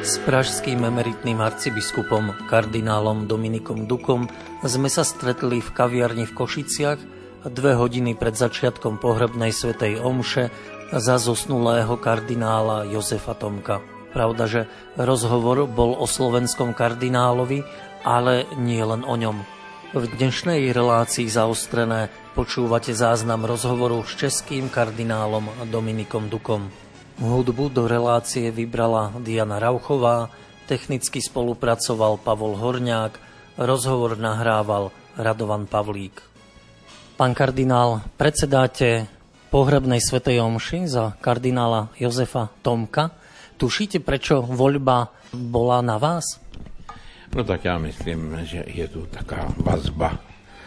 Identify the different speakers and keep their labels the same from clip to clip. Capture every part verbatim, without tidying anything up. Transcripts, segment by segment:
Speaker 1: S pražským emeritným arcibiskupom kardinálom Dominikom Dukom sme sa stretli v kaviarni v Košiciach dve hodiny pred začiatkom pohrebnej svätej omše za zosnulého kardinála Jozefa Tomka. Pravda, že rozhovor bol o slovenskom kardinálovi, ale nie len o ňom. V dnešnej relácii Zaostrené počúvate záznam rozhovoru s českým kardinálom Dominikom Dukom. Hudbu do relácie vybrala Diana Rauchová, technicky spolupracoval Pavol Horňák, rozhovor nahrával Radovan Pavlík. Pán kardinál, predsedáte pohrebnej svätej omši za kardinála Jozefa Tomka. Tušíte, prečo voľba bola na vás?
Speaker 2: No tak ja myslím, že je tu taká vazba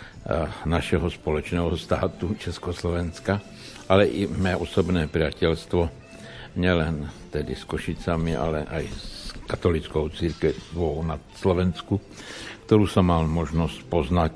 Speaker 2: našeho spoločného státu Československa, ale i mé osobné priateľstvo nielen tedy s Košicami, ale aj s katolickou cirkvou na Slovensku, ktorú som mal možnosť poznať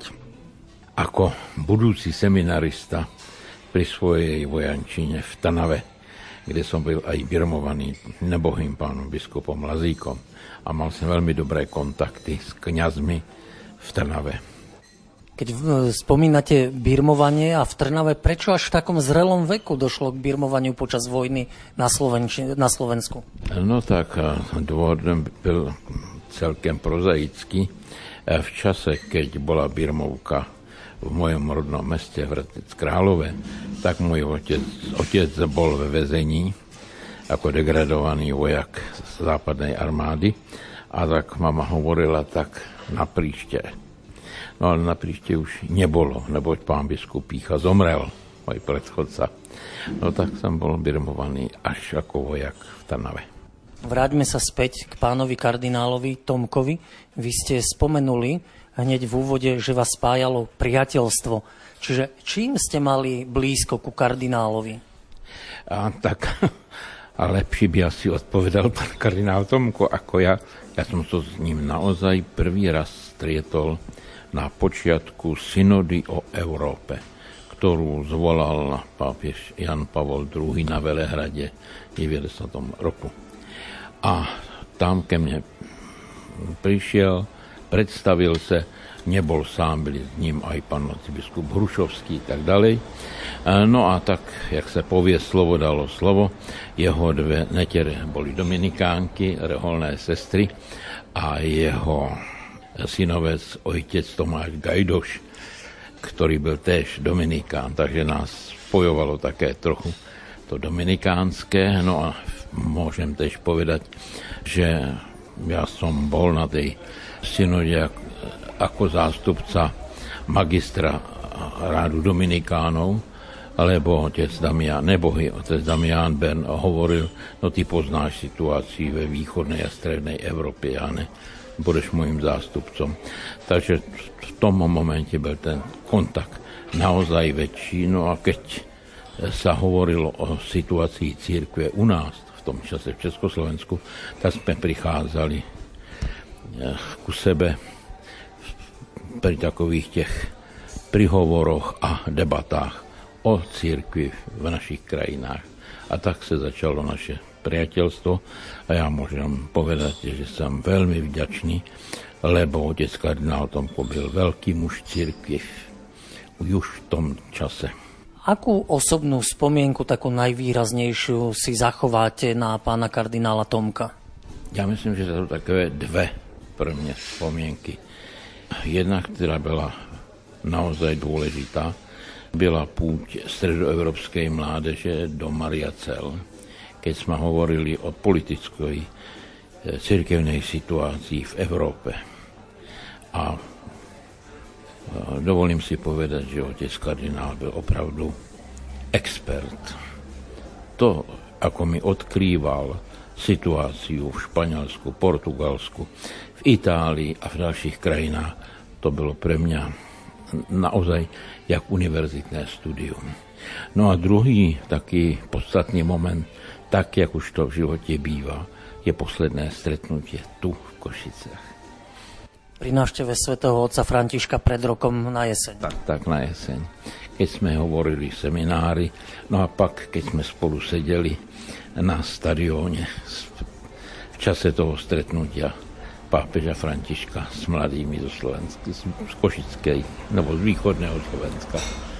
Speaker 2: ako budúci seminarista pri svojej vojančine v Trnave, kde som byl aj birmovaný nebohým pánom biskupom Lazíkom a mal som veľmi dobré kontakty s kňazmi v Trnave.
Speaker 1: Keď spomínate birmovanie a v Trnave, prečo až v takom zrelom veku došlo k birmovaniu počas vojny na, Slovenči- na Slovensku?
Speaker 2: No tak dôvod byl celkem prozaický. V čase, keď bola birmovka v mojom rodnom meste Hradec Králové, tak môj otec, otec bol ve väzení ako degradovaný vojak z západnej armády a tak mama hovorila tak na príšte. No ale na príšte už nebolo, neboť pán biskup Pícha zomrel, môj predchodca. No tak som bol birmovaný až ako vojak v Trnave.
Speaker 1: Vráťme sa späť k pánovi kardinálovi Tomkovi. Vy ste spomenuli hneď v úvode, že vás spájalo priateľstvo. Čiže čím ste mali blízko ku kardinálovi?
Speaker 2: A tak, a lepší by asi odpovedal pán kardinál Tomko ako ja. Ja som sa s ním naozaj prvý raz strietol na počiatku synody o Európe, ktorú zvolal pápež Jan Pavol druhý. Na Velehrade v deväťdesiatom roku. A tam ke mne prišiel, predstavil sa, nebol sám, byli s ním aj pán arcibiskup Hrušovský a tak ďalej. No a tak, jak sa povie, slovo dalo slovo, jeho dve netere boli dominikánky, reholné sestry a jeho synovec, otec Tomáš Gajdoš, ktorý byl též dominikán, takže nás spojovalo také trochu to dominikánske. No a môžem tiež povedať, že ja som bol na tej synode ako zástupca magistra rádu dominikánov, lebo otec Damián, nebohy, otec Damián Bern hovoril, no ty poznáš situáciu ve východnej a strednej Európe, ja ne, budeš môjim zástupcom. Takže v tom momente bol ten kontakt naozaj väčší. No a keď sa hovorilo o situácii cirkve u nás, v tom čase v Československu, tak sme prichádzali ku sebe pri takových tých prihovoroch a debatách o cirkvi v našich krajinách. A tak sa začalo naše priateľstvo a ja môžem povedať, že som veľmi vďačný, lebo otec kardinál Tomko byl veľký muž cirkvi už v tom čase.
Speaker 1: Akú osobnú spomienku, takú najvýraznejšiu, si zachováte na pána kardinála Tomka?
Speaker 2: Ja myslím, že to sú také dve pre mňa spomienky. Jedna, ktorá bola naozaj dôležitá, byla púť stredoevropskej mládeže do Mariacel, keď sme hovorili o politickej cirkevnej situácii v Európe. A dovolím si povedať, že otec kardinál byl opravdu expert. To, ako mi odkrýval situáciu v Španielsku, Portugalsku, v Itálii a v ďalších krajinách, to bylo pre mňa naozaj jak univerzitné studium. No a druhý taký podstatný moment, tak, jak už to v živote býva, je posledné stretnutie tu v Košiciach.
Speaker 1: Pri návšteve svätého otca Františka pred rokom na jeseň.
Speaker 2: Tak, tak na jeseň. Keď sme hovorili seminári, no a pak, keď sme spolu sedeli na stadióne v čase toho stretnutia pápeža Františka s mladými zo Slovenska, z Košickej, nebo z východného Slovenska.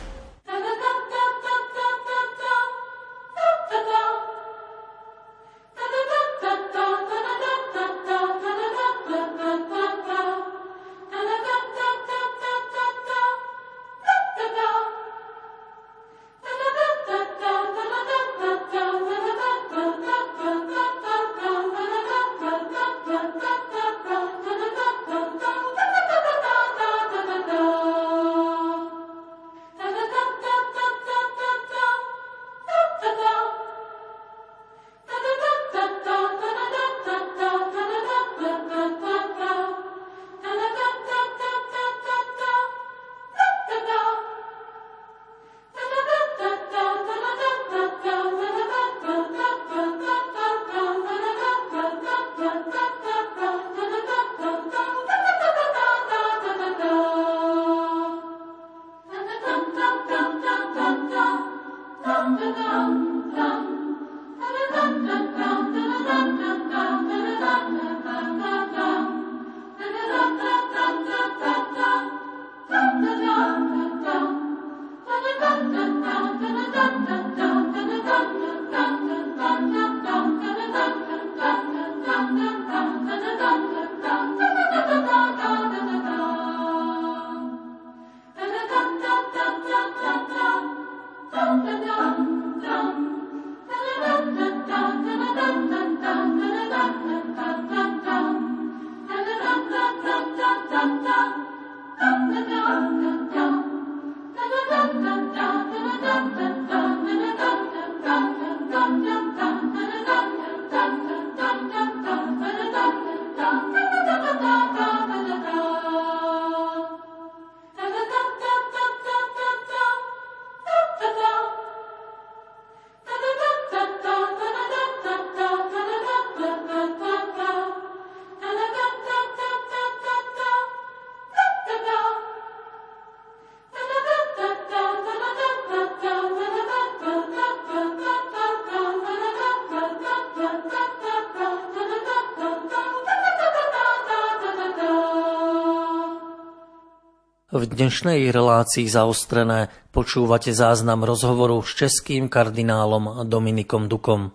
Speaker 1: V dnešnej relácii Zaostrené počúvate záznam rozhovoru s českým kardinálom Dominikom Dukom.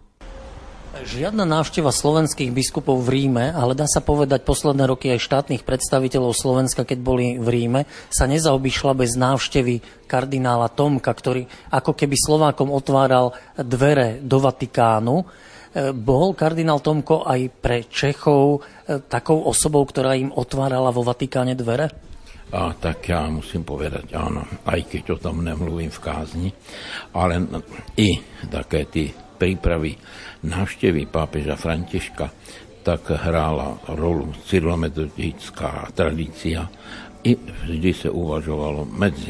Speaker 1: Žiadna návšteva slovenských biskupov v Ríme, ale dá sa povedať posledné roky aj štátnych predstaviteľov Slovenska, keď boli v Ríme, sa nezaobišla bez návštevy kardinála Tomka, ktorý ako keby Slovákom otváral dvere do Vatikánu. Bol kardinál Tomko aj pre Čechov takou osobou, ktorá im otvárala vo Vatikáne dvere?
Speaker 2: A tak ja musím povedať áno, aj keď o tom nemluvím v kázni, ale i také tí prípravy návštevy pápeža Františka, tak hrála rolu cyrilometodická tradícia i vždy sa uvažovalo medzi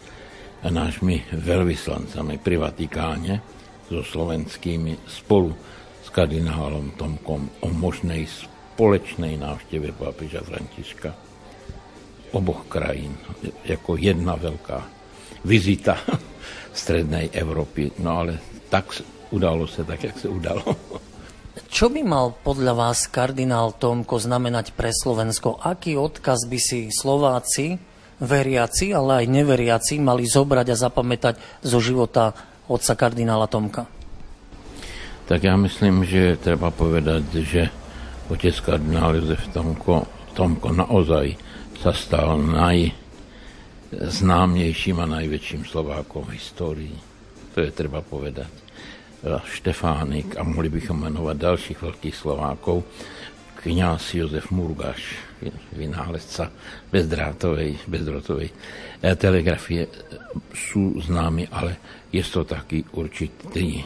Speaker 2: nášmi veľvyslancami pri Vatikáne so slovenskými spolu s kardinálom Tomkom o možnej spoločnej návšteve pápeža Františka oboch krajín, ako jedna veľká vizita strednej Európy. No ale tak udalo sa, tak jak sa udalo.
Speaker 1: Čo by mal podľa vás kardinál Tomko znamenať pre Slovensko? Aký odkaz by si Slováci, veriaci, ale aj neveriaci, mali zobrať a zapamätať zo života otca kardinála Tomka?
Speaker 2: Tak ja myslím, že treba povedať, že otec kardinál Jozef Tomko, Tomko naozaj sa stal najznámejším a najväčším Slovákom v histórii. To je treba povedať. Štefánik a mohli bychom menovať ďalších veľkých Slovákov. Kňaz Jozef Murgáš, vynálezca bezdrátovej, bezdrotovej telegrafie, sú známi, ale je to taký určitý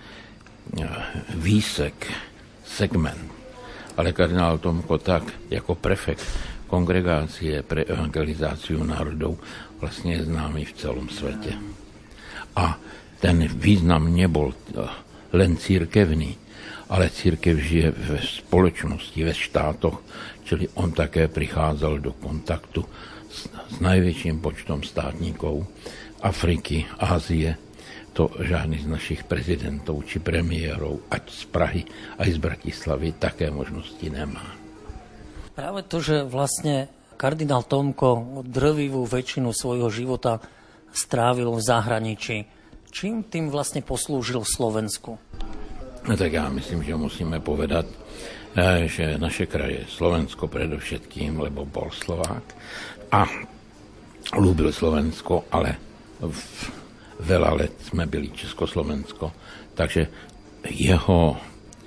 Speaker 2: výsek, segment. Ale kardinál Tomko tak, ako prefekt kongregácie pre evangelizáciu národov, vlastne je známy v celom svete. A ten význam nebol len cirkevný, ale cirkev žije ve spoločnosti, ve štátoch, čili on také prichádzal do kontaktu s, s najväčším počtom státnikov Afriky, Ázie, to žádný z našich prezidentov či premiérov, ať z Prahy, aj z Bratislavy, také možnosti nemá.
Speaker 1: Práve to, že vlastne kardinál Tomko drvivú väčšinu svojho života strávil v zahraničí, čím tým vlastne poslúžil Slovensku?
Speaker 2: No tak ja myslím, že musíme povedať, že naše kraje, Slovensko predovšetkým, lebo bol Slovák a ľúbil Slovensko, ale v veľa let sme byli Československo, takže jeho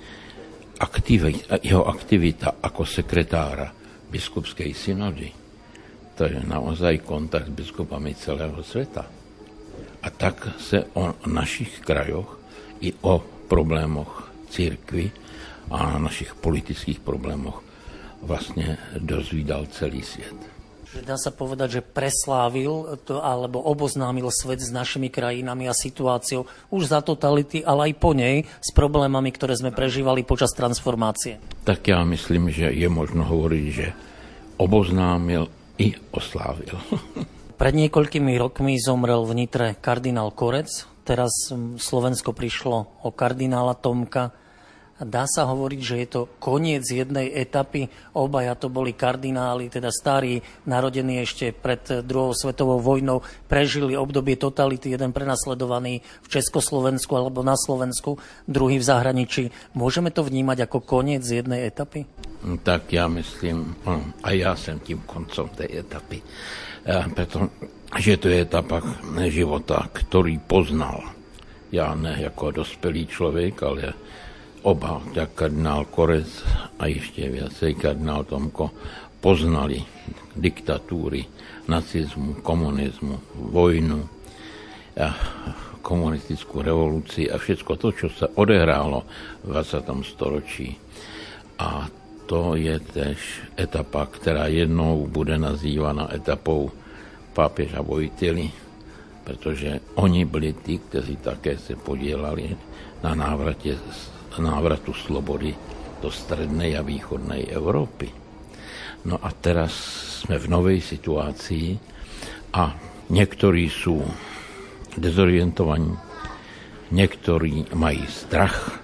Speaker 2: aktivita, jeho aktivita ako sekretára biskupskej synody, to je naozaj kontakt s biskupami celého sveta. A tak sa o našich krajoch i o problémoch cirkvi a našich politických problémoch vlastne dozvídal celý svet.
Speaker 1: Dá sa povedať, že preslávil to, alebo oboznámil svet s našimi krajinami a situáciou už za totality, ale aj po nej s problémami, ktoré sme prežívali počas transformácie.
Speaker 2: Tak ja myslím, že je možno hovoriť, že oboznámil i oslávil.
Speaker 1: Pred niekoľkými rokmi zomrel v Nitre kardinál Korec, teraz Slovensko prišlo o kardinála Tomka. Dá sa hovoriť, že je to koniec jednej etapy. Obaja to boli kardináli, teda starí, narodení ešte pred druhou svetovou vojnou, prežili obdobie totality, jeden prenasledovaný v Československu alebo na Slovensku, druhý v zahraničí. Môžeme to vnímať ako koniec jednej etapy?
Speaker 2: Tak ja myslím, a ja som tým koncom tej etapy. Pretože to je etapa života, ktorý poznal. Ja ne ako dospelý človek, ale oba, tak kardinál Korec a ešte viacej kardinál Tomko, poznali diktatúry, nacizmu, komunizmu, vojnu, a komunistickú revolúciu a všetko to, čo sa odehrálo v dvadsiatom storočí. A to je tež etapa, ktorá jednou bude nazývaná etapou pápeža Vojtily, pretože oni byli tí, ktorí také sa podielali na návrate návratu slobody do strednej a východnej Európy. No a teraz sme v novej situácii a niektorí sú dezorientovaní, niektorí majú strach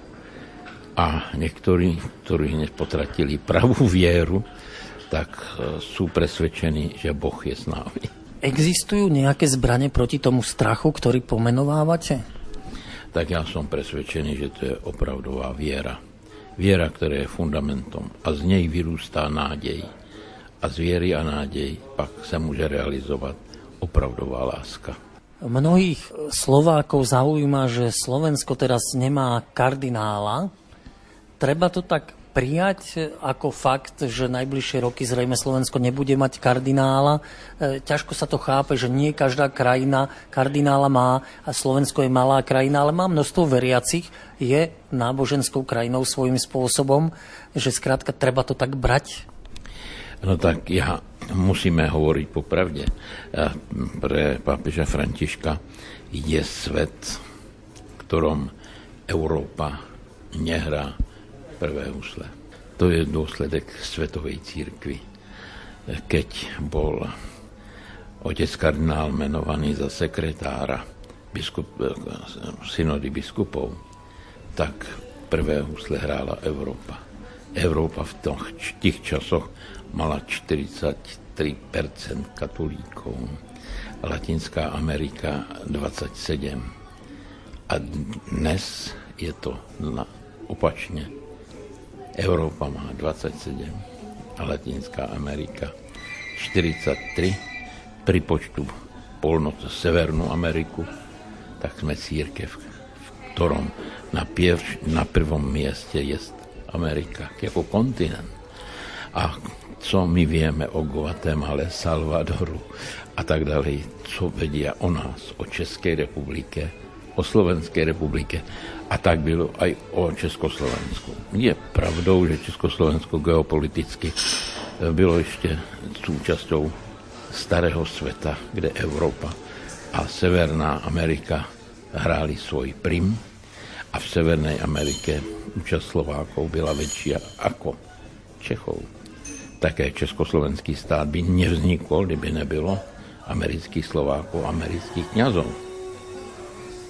Speaker 2: a niektorí, ktorí hneď potratili pravú vieru, tak sú presvedčení, že Boh je s nami.
Speaker 1: Existujú nejaké zbrane proti tomu strachu, ktorý pomenovávate?
Speaker 2: Tak ja som presvedčený, že to je opravdová viera. Viera, ktorá je fundamentom a z nej vyrústá nádej. A z viery a nádej pak sa môže realizovať opravdová láska.
Speaker 1: Mnohých Slovákov zaujíma, že Slovensko teraz nemá kardinála. Treba to tak prijať ako fakt, že najbližšie roky zrejme Slovensko nebude mať kardinála. E, ťažko sa to chápe, že nie každá krajina kardinála má a Slovensko je malá krajina, ale má množstvo veriacich, je náboženskou krajinou svojím spôsobom, že skrátka treba to tak brať.
Speaker 2: No tak ja musíme hovoriť popravde. Pre pápeža Františka je svet, v ktorom Európa nehrá prvé husle. To je dôsledek svetovej cirkvi. Keď bol otec kardinál menovaný za sekretára biskup, synody biskupov, tak prvé husle hrála Európa. Európa v tých časoch mala štyridsaťtri percent katolíkov, Latinská Amerika dvadsaťsedem percent. A dnes je to opačne. Európa má dvadsaťsedem a Latinská Amerika štyridsaťtri. Pri počtu polnoc Severnú Ameriku, tak sme církev, v ktorom na, pier, na prvom mieste je Amerika, ako kontinent. A co my vieme o Guatemale, Salvadoru a tak ďalej, co vedia o nás, o Českej republike, o Slovenskej republike, a tak bylo aj o Československu. Je pravdou, že Československo geopoliticky bylo ešte súčasťou starého sveta, kde Európa a Severná Amerika hráli svoj prim a v Severnej Amerike účasť Slovákov byla väčšia ako Čechov. Také československý stát by nevznikol, kdyby nebylo amerických Slovákov, amerických kňazov.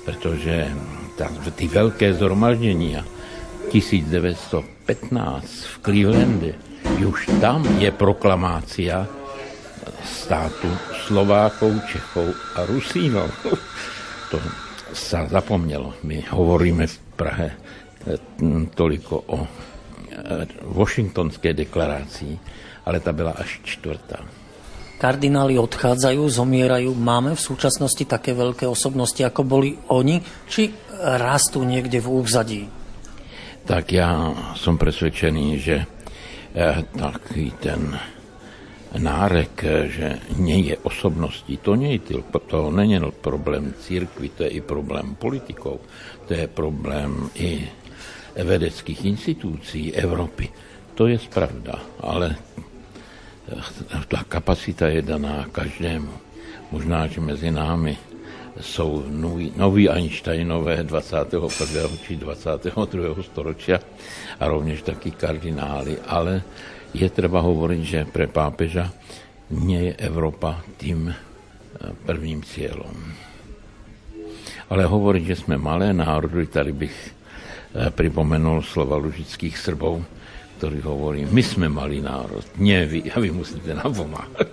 Speaker 2: pretože tí veľké zhromaždenia devätnásťstopätnásť v Clevelande, už tam je proklamácia státu Slovákov, Čechov a Rusínov. To sa zapomnelo. My hovoríme v Prahe toliko o Washingtonskej deklarácii, ale tá byla až čtvrtá.
Speaker 1: Kardináli odchádzajú, zomierajú. Máme v súčasnosti také veľké osobnosti, ako boli oni, či rastú niekde v úzadí?
Speaker 2: Tak ja som presvedčený, že taký ten nárek, že nie je osobnosti, to nie je to nie je problém církvy, to je i problém politikov, to je problém i vedeckých institúcií Európy. To je pravda, ale tá kapacita je daná každému. Možná, že mezi námi sú noví, noví Einsteinové dvadsiateho prvého či dvadsiateho druhého storočia a rovnež takí kardináli, ale je treba hovoriť, že pre pápeža nie je Európa tým prvním cieľom. Ale hovoriť, že sme malé národy, tady bych pripomenul slova lužických Srbov, ktorí hovorí, my sme malý národ, nie vy, a vy musíte nám pomáhať.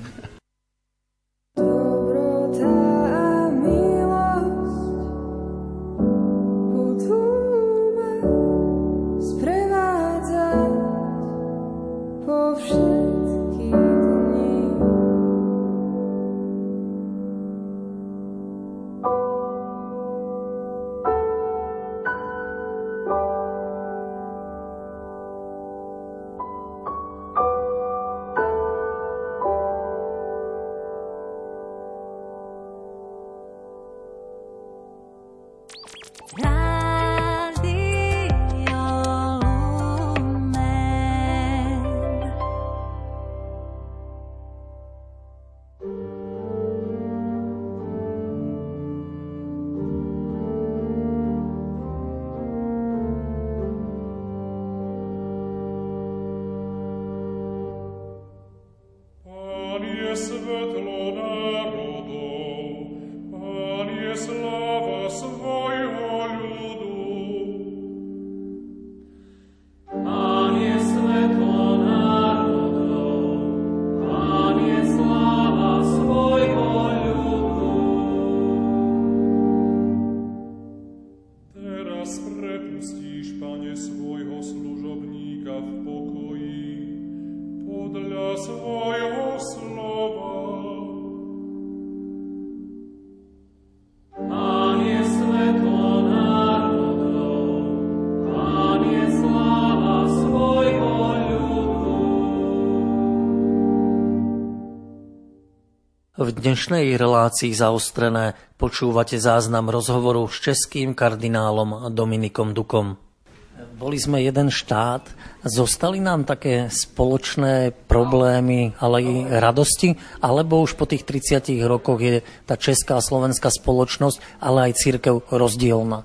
Speaker 1: V dnešnej relácii Zaostrené počúvate záznam rozhovoru s českým kardinálom Dominikom Dukom. Boli sme jeden štát, zostali nám také spoločné problémy, ale i radosti, alebo už po tých tridsiatich rokoch je tá česká a slovenská spoločnosť, ale aj cirkev rozdielna?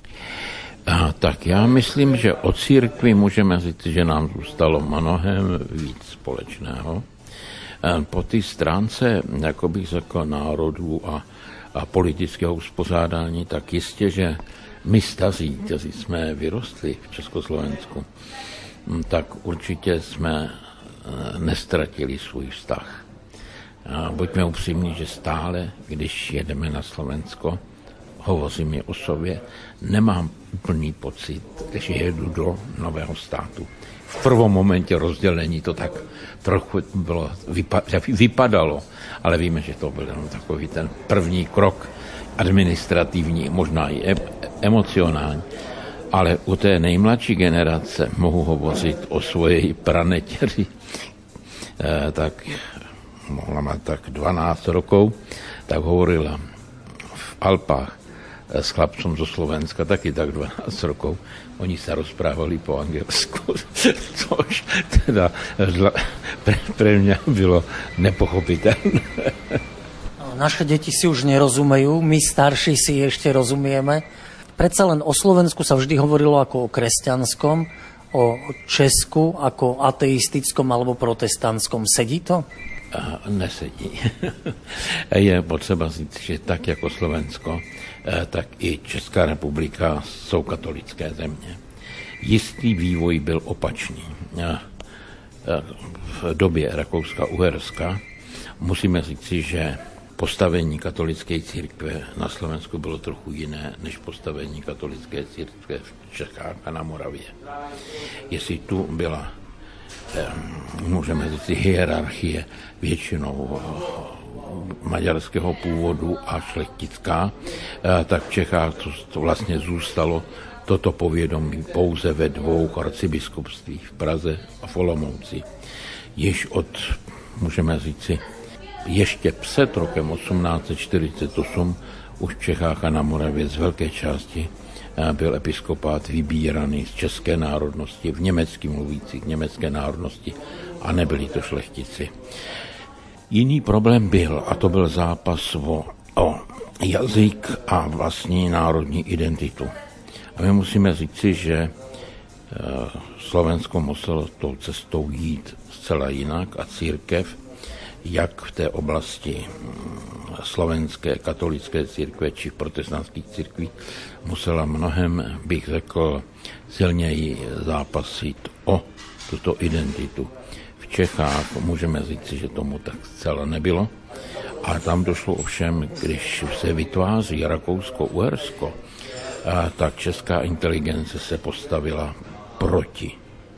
Speaker 2: A, tak ja myslím, že od církvy môžeme říct, že nám zůstalo mnohem víc společného. Po té stránce, jako bych řekl, národů a, a politického uspořádání, tak jistě, že my staří, kteří jsme vyrostli v Československu, tak určitě jsme nestratili svůj vztah. A buďme upřímní, že stále, když jedeme na Slovensko, hovořím je o sobě, nemám úplný pocit, že jedu do nového státu. V prvom momente rozdělení to tak trochu bylo, vypadalo, ale víme, že to byl takový ten první krok administrativní, možná i emocionální. Ale u té nejmladší generace mohu hovořit o svojej pranetěři, e, tak mohla mít tak dvanásť rokov, tak hovorila v Alpách s chlapcom zo Slovenska, taky tak dvanásť rokov. Oni sa rozprávali po anglielsku, což teda pre, pre mňa bylo nepochopiteľné.
Speaker 1: Naše deti si už nerozumejú, my starší si ešte rozumieme. Predsa len o Slovensku sa vždy hovorilo ako o kresťanskom, o Česku ako ateistickom alebo protestantskom. Sedí to?
Speaker 2: A nesedí. Je potřeba říct, že tak jako Slovensko tak i Česká republika jsou katolické země. Jistý vývoj byl opačný. V době Rakouska-Uherska musíme říci, že postavení katolické církve na Slovensku bylo trochu jiné než postavení katolické církve v Čechách a na Moravě. Jestli tu byla, můžeme říct, hierarchie většinou maďarského původu a šlechtická, tak v Čechách to vlastně zůstalo toto povědomí pouze ve dvou arcibiskupstvích, v Praze a v Olomouci. Již od, můžeme říci, ještě před rokem osmnáct set čtyřicet osm už v Čechách a na Moravě z velké části byl episkopát vybíraný z české národnosti, v německy mluvících německé národnosti, a nebyli to šlechtici. Jiný problém byl, a to byl zápas o, o jazyk a vlastní národní identitu. A my musíme říci, že Slovensko muselo tou cestou jít zcela jinak a církev, jak v té oblasti slovenské katolické církve či v protestantských církvích, musela mnohem, bych řekl, silněji zápasit o tuto identitu. V Čechách můžeme říci, že tomu tak zcela nebylo. A tam došlo ovšem, když se vytváří Rakousko-Uhersko, tak česká inteligence se postavila proti.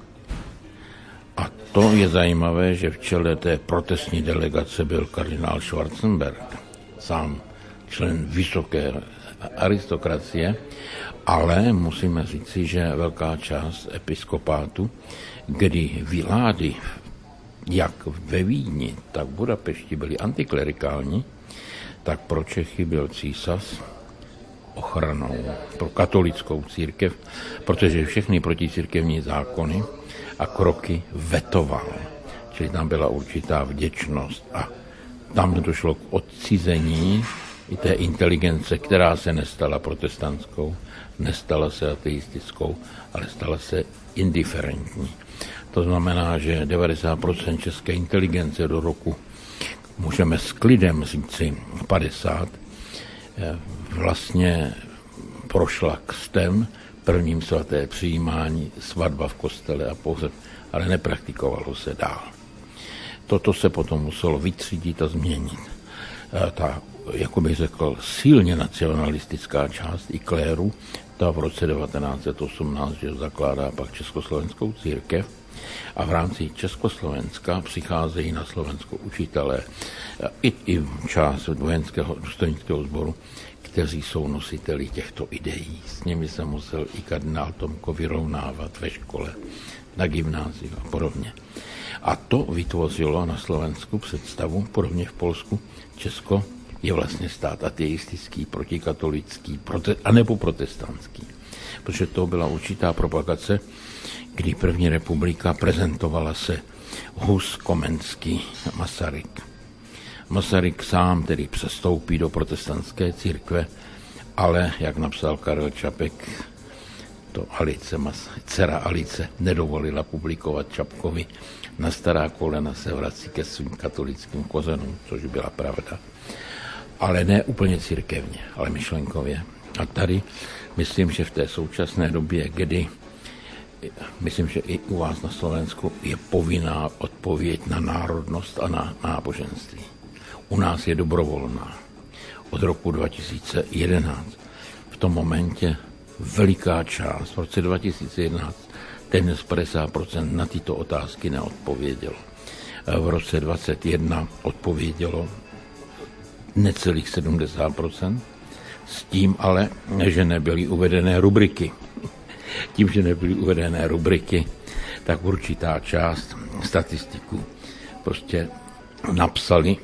Speaker 2: A to je zajímavé, že v čele té protestní delegace byl kardinál Schwarzenberg, sám člen vysoké aristokracie, ale musíme říci, že velká část episkopátu, kdy vlády jak ve Vídni, tak v Budapešti byly antiklerikální, tak pro Čechy byl císař ochranou pro katolickou církev, protože všechny proticírkevní zákony a kroky vetoval. Čili tam byla určitá vděčnost a tam došlo k odcizení i té inteligence, která se nestala protestantskou, nestala se ateistickou, ale stala se indiferentní. To znamená, že devadesát procent české inteligence do roku, můžeme s klidem říci padesát, vlastně prošla křtem, prvním svaté přijímání, svatba v kostele a pohřeb, ale nepraktikovalo se dál. Toto se potom muselo vytřídit a změnit. Ta, jako bych řekl, silně nacionalistická část i kléru, ta v roce devatenáct set osmnáct že zakládá pak Československou církev a v rámci Československa přicházejí na Slovensko učitelé i, i část vojenského důstojnického sboru, kteří jsou nositeli těchto ideí. S nimi se musel i kardinál Tomko vyrovnávat ve škole, na gymnáziu a podobně. A to vytvořilo na Slovensku představu, podobně v Polsku, Česko je vlastně stát ateistický, protikatolický, prote- anebo protestantský. Protože to byla určitá propagace, kdy první republika prezentovala se Hus, Komenský, Masaryk. Masaryk sám tedy přestoupí do protestantské církve, ale, jak napsal Karel Čapek, to Alice, dcera Alice nedovolila publikovat Čapkovi, na stará kolena se vrací ke svým katolickým kořenům, což byla pravda. Ale ne úplně církevně, ale myšlenkově. A tady myslím, že v té současné době, kdy myslím, že i u vás na Slovensku je povinná odpověď na národnost a na náboženství. U nás je dobrovolná. Od roku dva tisíce jedenáct. V tom momentě veliká část, v roce dva tisíce jedenáct, téměř padesát procent na tyto otázky neodpovědělo. V roce dvacet jedna odpovědělo necelých sedmdesát procent, s tím ale, že nebyly uvedené rubriky. Tím, že nebyly uvedené rubriky, tak určitá část statistiků prostě napsali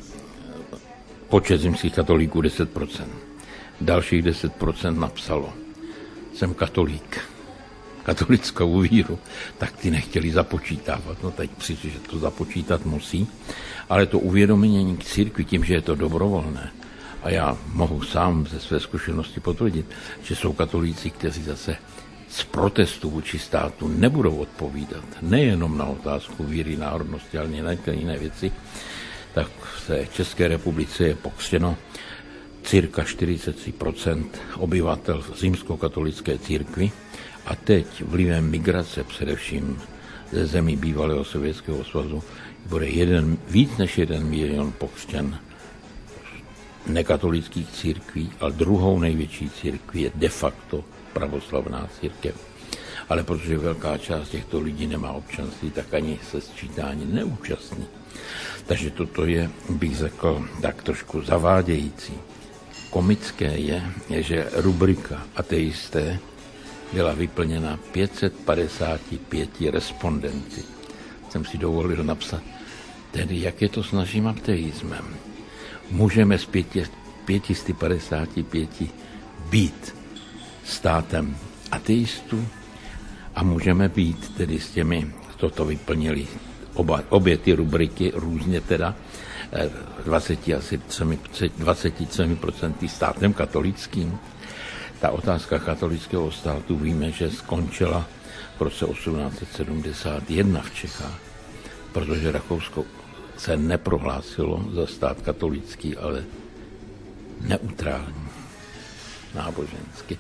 Speaker 2: počet římských katolíků deset procent. Dalších deset procent napsalo: jsem katolík, katolickou víru, tak ty nechtěli započítávat. No teď přijde, že to započítat musí, ale to uvědomění k církvi tím, že je to dobrovolné. A já mohu sám ze své zkušenosti potvrdit, že jsou katolíci, kteří zase z protestu vůči státu nebudou odpovídat nejenom na otázku víry, národnosti, ale i na jiné věci, tak v České republice je pokřtěno cirka čtyřicet tři procent obyvatel římskokatolické církvy a teď vlivem migrace především ze zemí bývalého Sovětského svazu bude jeden, víc než jeden milion pokřtěn nekatolických církví, ale druhou největší církví je de facto pravoslavná církev. Ale protože velká část těchto lidí nemá občanství, tak ani se sčítání neúčastní. Takže toto je, bych řekl, tak trošku zavádějící. Komické je, že rubrika ateisté byla vyplněna pět set padesát pět respondenty. Jsem si dovolil napsat, tedy jak je to s naším ateismem. Můžeme z pět set padesát pět být státem ateistů a můžeme být tedy s těmi, toto vyplnili oba, obě ty rubriky různě teda, dvacet tři procent státem katolickým. Ta otázka katolického státu víme, že skončila v roce osmnáct set sedmdesát jedna v Čechách, protože Rakousko se neprohlásilo za stát katolický, ale neutrální, nábožensky.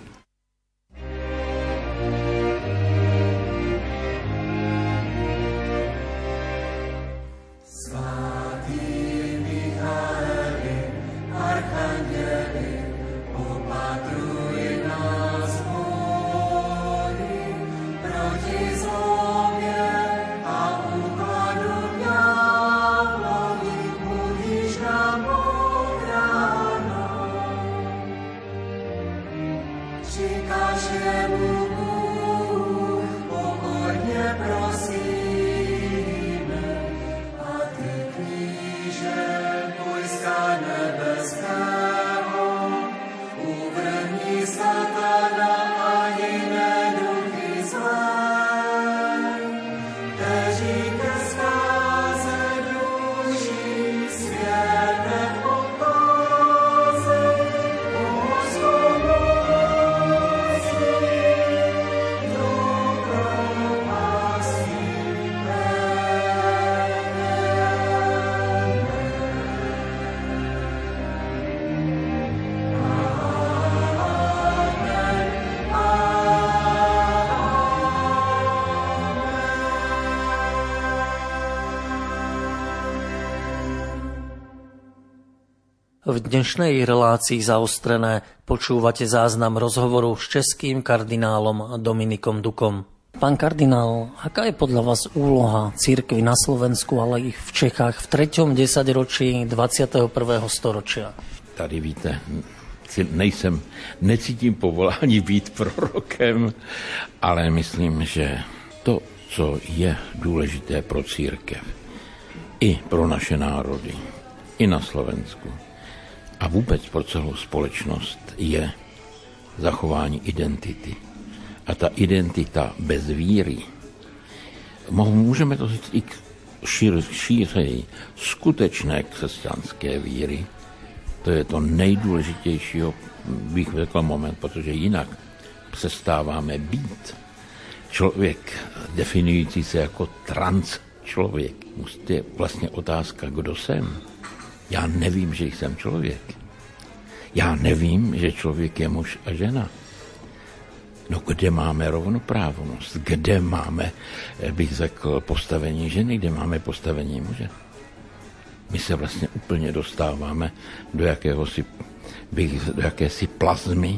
Speaker 1: V dnešnej relácii Zaostrené počúvate záznam rozhovoru s českým kardinálom Dominikom Dukom. Pán kardinál, aká je podľa vás úloha cirkvi na Slovensku, ale i v Čechách v treťom desaťročí dvadsiateho prvého storočia?
Speaker 2: Tady víte, nejsem, necítím povolání být prorokem, ale myslím, že to, co je důležité pro církev, i pro naše národy, i na Slovensku, a vůbec pro celou společnost je zachování identity. A ta identita bez víry, můžeme to říct i šíř, šířeji, skutečné křesťanské víry, to je to nejdůležitější, bych řekl, moment, protože jinak přestáváme být. Člověk definující se jako trans člověk, je vlastně otázka, kdo jsem. Já nevím, že jsem člověk. Já nevím, že člověk je muž a žena. No kde máme rovnoprávnost? Kde máme, bych řekl, postavení ženy? Kde máme postavení muže? My se vlastně úplně dostáváme do jakéhosi, bych, do jakési plazmy,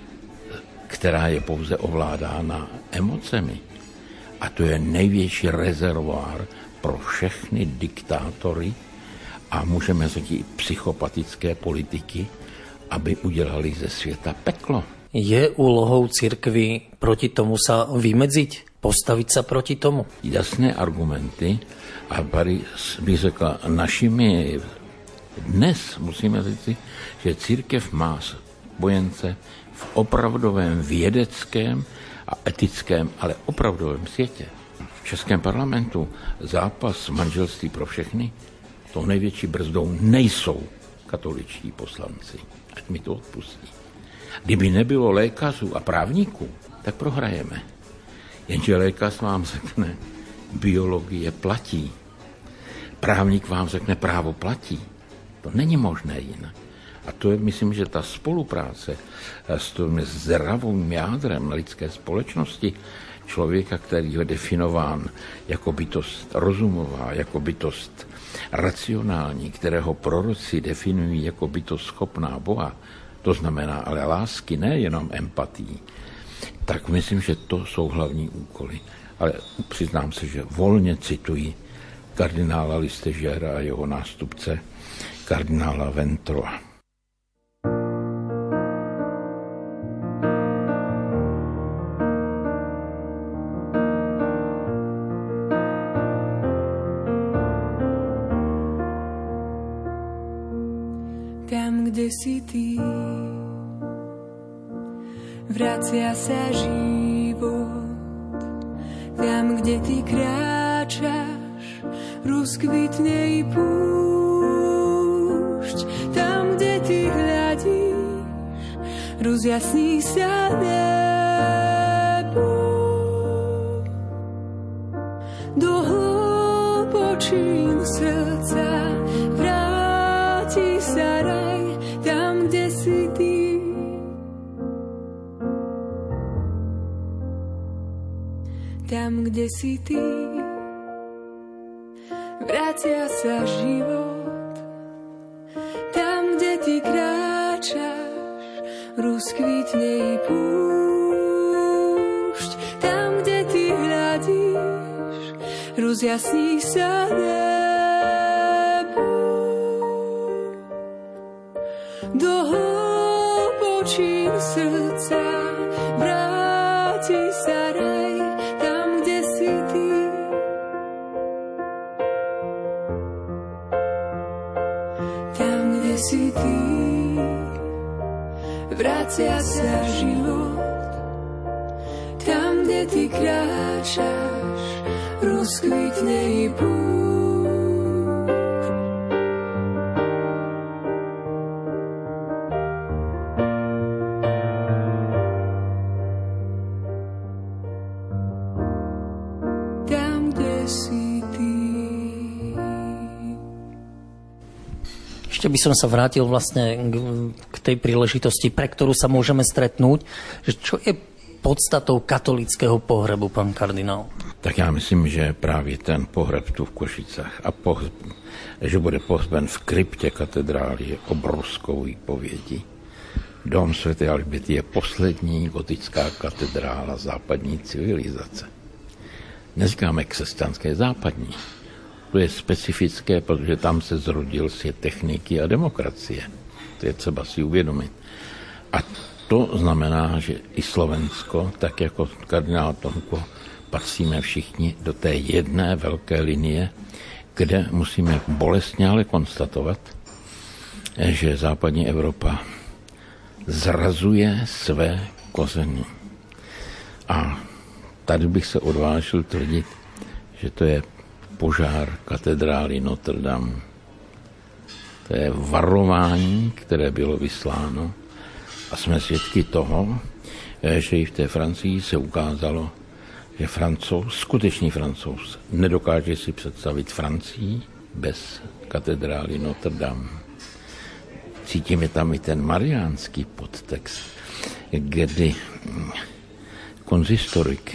Speaker 2: která je pouze ovládána emocemi. A to je největší rezervoár pro všechny diktátory a můžeme říct i psychopatické politiky, aby udělali ze světa peklo.
Speaker 1: Je úlohou cirkvi proti tomu sa vymedziť? Postaviť sa proti tomu?
Speaker 2: Jasné argumenty a tady bych řekla našimi dnes musíme říct, že církev má spojence v opravdovém vědeckém a etickém, ale opravdovém světě. V Českém parlamentu zápas manželství pro všechny, tou největší brzdou nejsou katoličtí poslanci. Ať mi to odpustí. Kdyby nebylo lékařů a právníků, tak prohrajeme. Jenže lékař vám řekne, biologie platí. Právník vám řekne, právo platí. To není možné jinak. A A to je, myslím, že ta spolupráce s tím zdravým jádrem lidské společnosti, člověka, který je definován jako bytost rozumová, jako bytost racionální, kterého proroci definují jako bytost schopná Boha, to znamená ale lásky, nejenom empatii, tak myslím, že to jsou hlavní úkoly. Ale přiznám se, že volně cituji kardinála Listežera a jeho nástupce kardinála Ventrova.
Speaker 3: Tam, kde si ty, vracia sa život. Tam, kde ty kráčaš, rozkvitne i púšť. Tam, kde ty hľadíš, rozjasní sa nebo. Do hlbočín srdca vráti sa raj, tam, kde si ty. Tam, kde si ty, vracia sa život. Tam, kde ty kráčaš, rozkvitne i púšť. Tam, kde ty hľadíš, rozjasní sa nebo. Do hlbočín srdca vráti sa raj, si ty, vracia sa život. Tam, kde ty kráčaš, rozkvitne i púšť. Tam, kde si ty.
Speaker 1: Ešte by som sa vrátil vlastne k tej príležitosti, pre ktorú sa môžeme stretnúť. Že čo je podstatou katolického pohrebu, pán kardinál?
Speaker 2: Tak já myslím, že právě ten pohreb tu v Košicách a poh- že bude pohřben v kryptě katedrály je obrovskou výpovědí. Dom svätej Alžběty je poslední gotická katedrála západní civilizace. Neříkáme křesťanské, západní. To je specifické, protože tam se zrodil svět techniky a demokracie. To je třeba si uvědomit. A to znamená, že i Slovensko, tak jako kardinál Tomko, patříme všichni do té jedné velké linie, kde musíme bolestně ale konstatovat, že západní Evropa zrazuje své kořeny. A tady bych se odvážil tvrdit, že to je požár katedrály Notre Dame. To je varování, které bylo vysláno a jsme svědky toho, že i v té Francii se ukázalo, že Francouz, skutečný Francouz, nedokáže si představit Francii bez katedrály Notre Dame. Cítíme tam i ten mariánský podtext, kdy konzistorik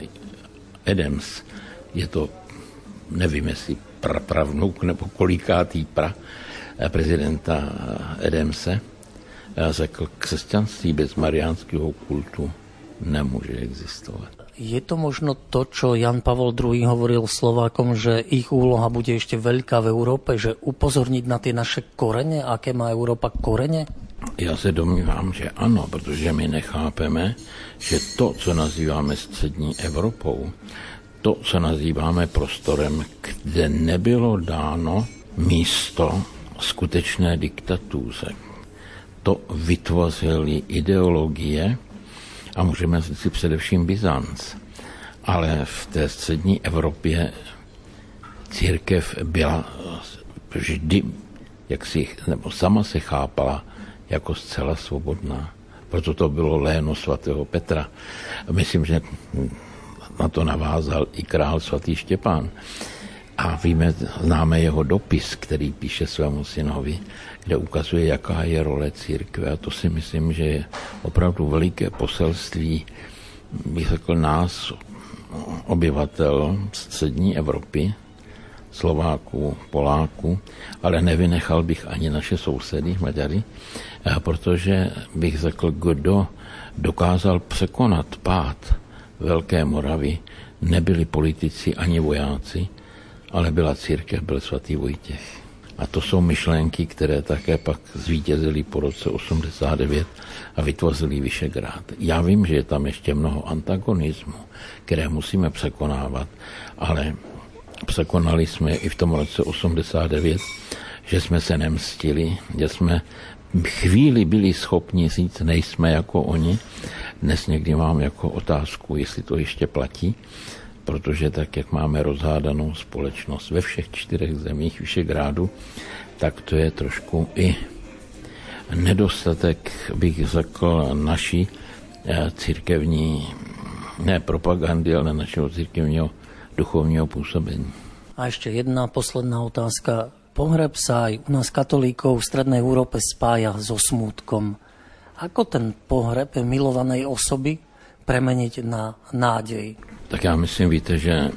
Speaker 2: Adams, je to nevím, jestli prapravnuk nebo kolikátý pra prezidenta Adamse, řekl, křesťanství bez mariánského kultu nemůže existovat.
Speaker 1: Je to možno to, čo Jan Pavol druhý. hovoril Slovákom, že ich úloha bude ešte veľká v Európe, že upozorniť na tie naše korene, aké má Európa korene?
Speaker 2: Já se domnívám, že ano, protože my nechápeme, že to, co nazýváme střední Evropou, to, co nazýváme prostorem, kde nebylo dáno místo skutečné diktatuře. To vytvořily ideologie a můžeme říct především Byzanc. Ale v té střední Evropě církev byla vždy, jak si, nebo sama se chápala jako zcela svobodná. Proto to bylo léno svatého Petra. Myslím, že na to navázal i král svatý Štěpán. A víme, známe jeho dopis, který píše svému synovi, kde ukazuje, jaká je role církve. A to si myslím, že je opravdu veliké poselství, bych řekl, nás, obyvatel střední Evropy, Slováků, Poláků, ale nevynechal bych ani naše sousedy, Maďary, protože bych řekl, kdo dokázal překonat pád Velké Moravy, nebyli politici ani vojáci, ale byla církev, byl svatý Vojtěch. A to jsou myšlenky, které také pak zvítězily po roce osmdesát devět a vytvořili Vyšegrád. Já vím, že je tam ještě mnoho antagonismu, které musíme překonávat, ale překonali jsme i v tom roce osmdesát devět, že jsme se nemstili, že jsme chvíli byli schopni říct, nejsme jako oni. Dnes někdy mám jako otázku, jestli to ještě platí, protože tak, jak máme rozhádanou společnost ve všech čtyřech zemích Vyšegrádu, tak to je trošku i nedostatek, bych řekl, naší církevní, ne propagandy, ale našeho církevního duchovního působení.
Speaker 1: A ešte jedna posledná otázka. Pohreb sa aj u nás katolíkov v strednej Európe spája so smútkom. Ako ten pohreb milovanej osoby premeniť na nádej?
Speaker 2: Tak já myslím, víte, že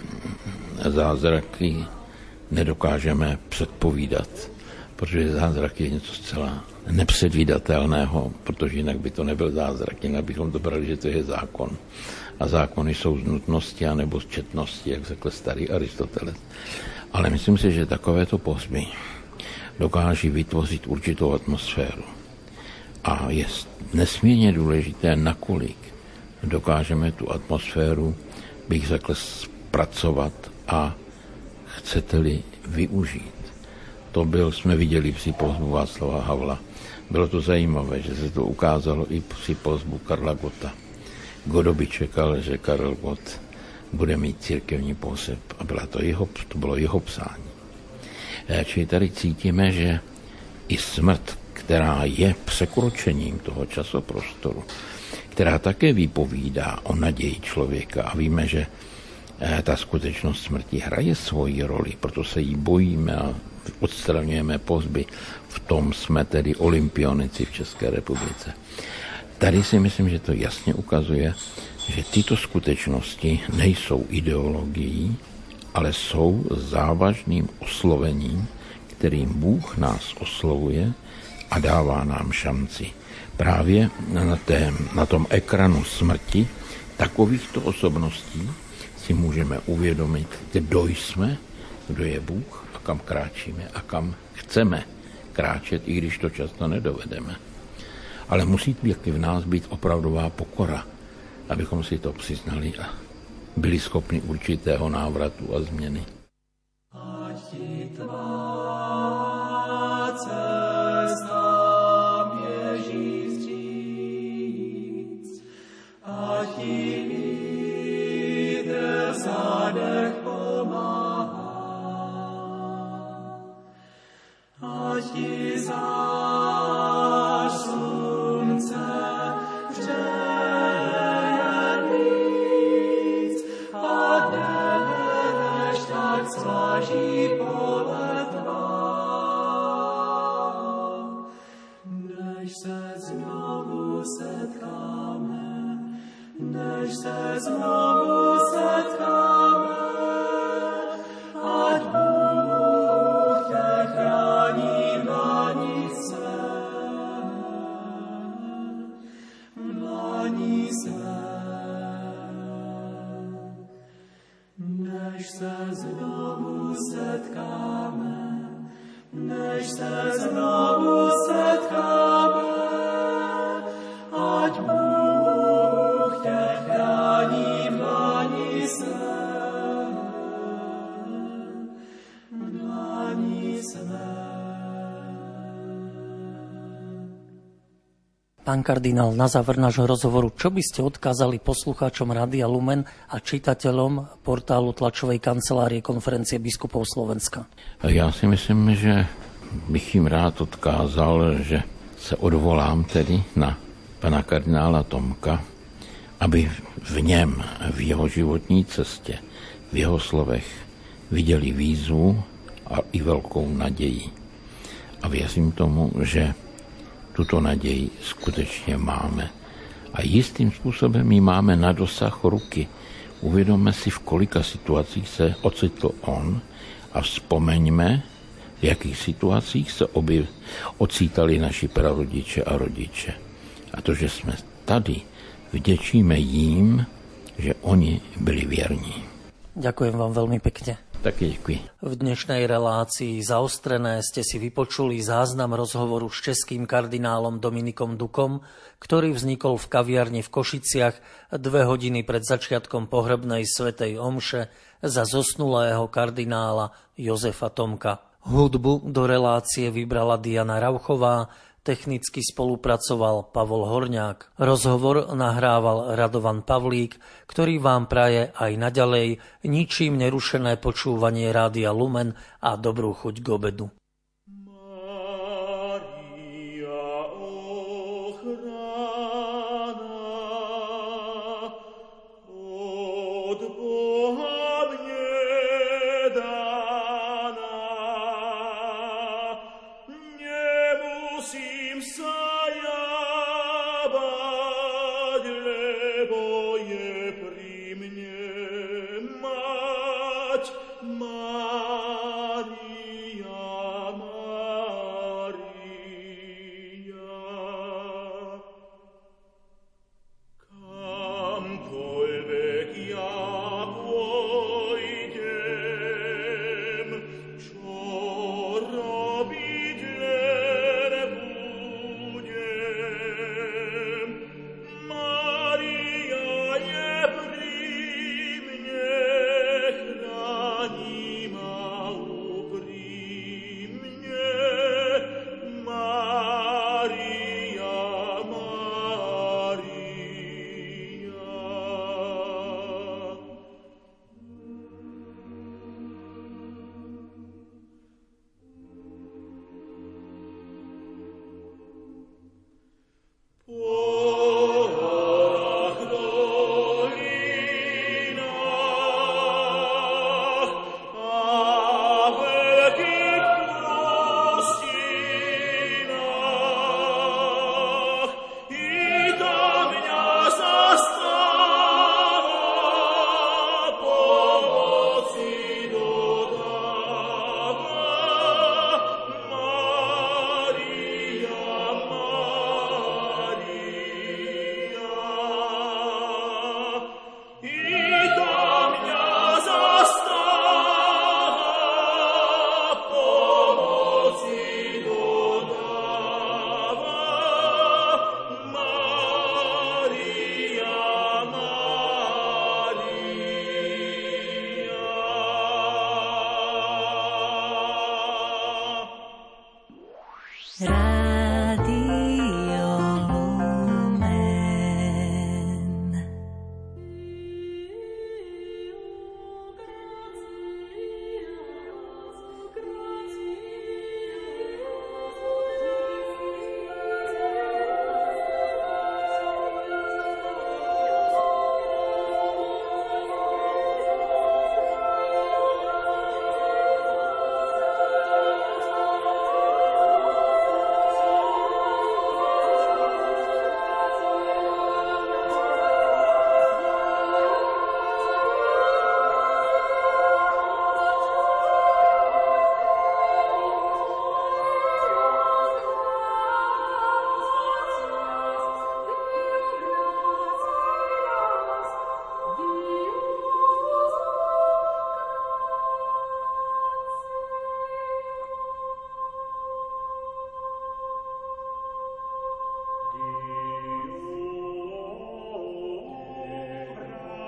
Speaker 2: zázraky nedokážeme předpovídat, protože zázrak je něco zcela nepředvídatelného, protože jinak by to nebyl zázrak, jinak bychom to brali, že to je zákon. A zákony jsou z nutnosti anebo z četnosti, jak řekl starý Aristoteles. Ale myslím si, že takovéto pohřby dokáží vytvořit určitou atmosféru. A je nesmírně důležité, nakolik dokážeme tu atmosféru, bych řekl, zpracovat a chcete-li využít. To byl, jsme viděli při pohřbu Václava Havla. Bylo to zajímavé, že se to ukázalo i při pohřbu Karla Gotta. Kdo by čekal, že Karel Gott bude mít církevní pohřeb a byla to, jeho, to bylo jeho psání. Čili tady cítíme, že i smrt, která je překročením toho časoprostoru, která také vypovídá o naději člověka a víme, že ta skutečnost smrti hraje svoji roli, proto se jí bojíme a odstraňujeme pohřby. V tom jsme tedy olympionici v České republice. Tady si myslím, že to jasně ukazuje, že tyto skutečnosti nejsou ideologií, ale jsou závažným oslovením, kterým Bůh nás oslovuje a dává nám šanci. Právě na, té, na tom ekranu smrti takovýchto osobností si můžeme uvědomit, kdo jsme, kdo je Bůh a kam kráčíme a kam chceme kráčet, i když to často nedovedeme. Ale musí taky v nás být opravdová pokora, abychom si to přiznali a byli schopni určitého návratu a změny.
Speaker 1: Pán kardinál, na záver nášho rozhovoru, čo by ste odkázali poslucháčom Rádia Lumen a čitateľom portálu tlačovej kancelárie Konferencie biskupov Slovenska?
Speaker 2: Já si myslím, že bych jim rád odkázal, že se odvolám tedy na pana kardinála Tomka, aby v něm, v jeho životní cestě, v jeho slovech viděli výzvu a i velkou naději. A věřím tomu, že tuto naději skutečně máme. A jistým způsobem ji máme na dosah ruky. Uvědomme si, v kolika situacích se ocitl on a vzpomeňme, v jakých situacích se objev, ocítali naši prarodiče a rodiče. A to, že jsme tady, vděčíme jim, že oni byli věrní.
Speaker 1: Ďakujem vám veľmi pekne.
Speaker 2: Také děkuji.
Speaker 1: V dnešnej relácii Zaostrené ste si vypočuli záznam rozhovoru s českým kardinálom Dominikom Dukom, ktorý vznikol v kaviarni v Košiciach dve hodiny pred začiatkom pohrebnej svätej omše za zosnulého kardinála Jozefa Tomka. Hudbu do relácie vybrala Diana Rauchová, technicky spolupracoval Pavol Horňák. Rozhovor nahrával Radovan Pavlík, ktorý vám praje aj naďalej ničím nerušené počúvanie Rádia Lumen a dobrú chuť k obedu.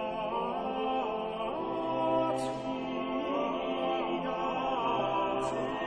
Speaker 4: Thank you.